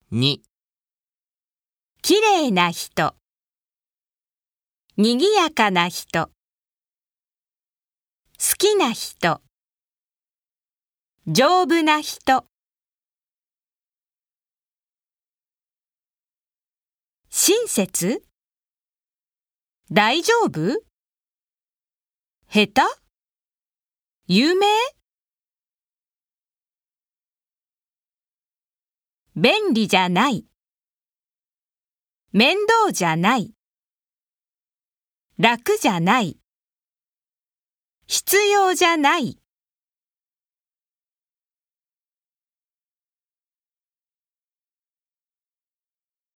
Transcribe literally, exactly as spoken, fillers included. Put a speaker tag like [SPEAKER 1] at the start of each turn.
[SPEAKER 1] に、
[SPEAKER 2] きれいな人、にぎやかな人、好きな人、丈夫な人。親切？大丈夫？下手？有名？便利じゃない。面倒じゃない。楽じゃない。必要じゃない。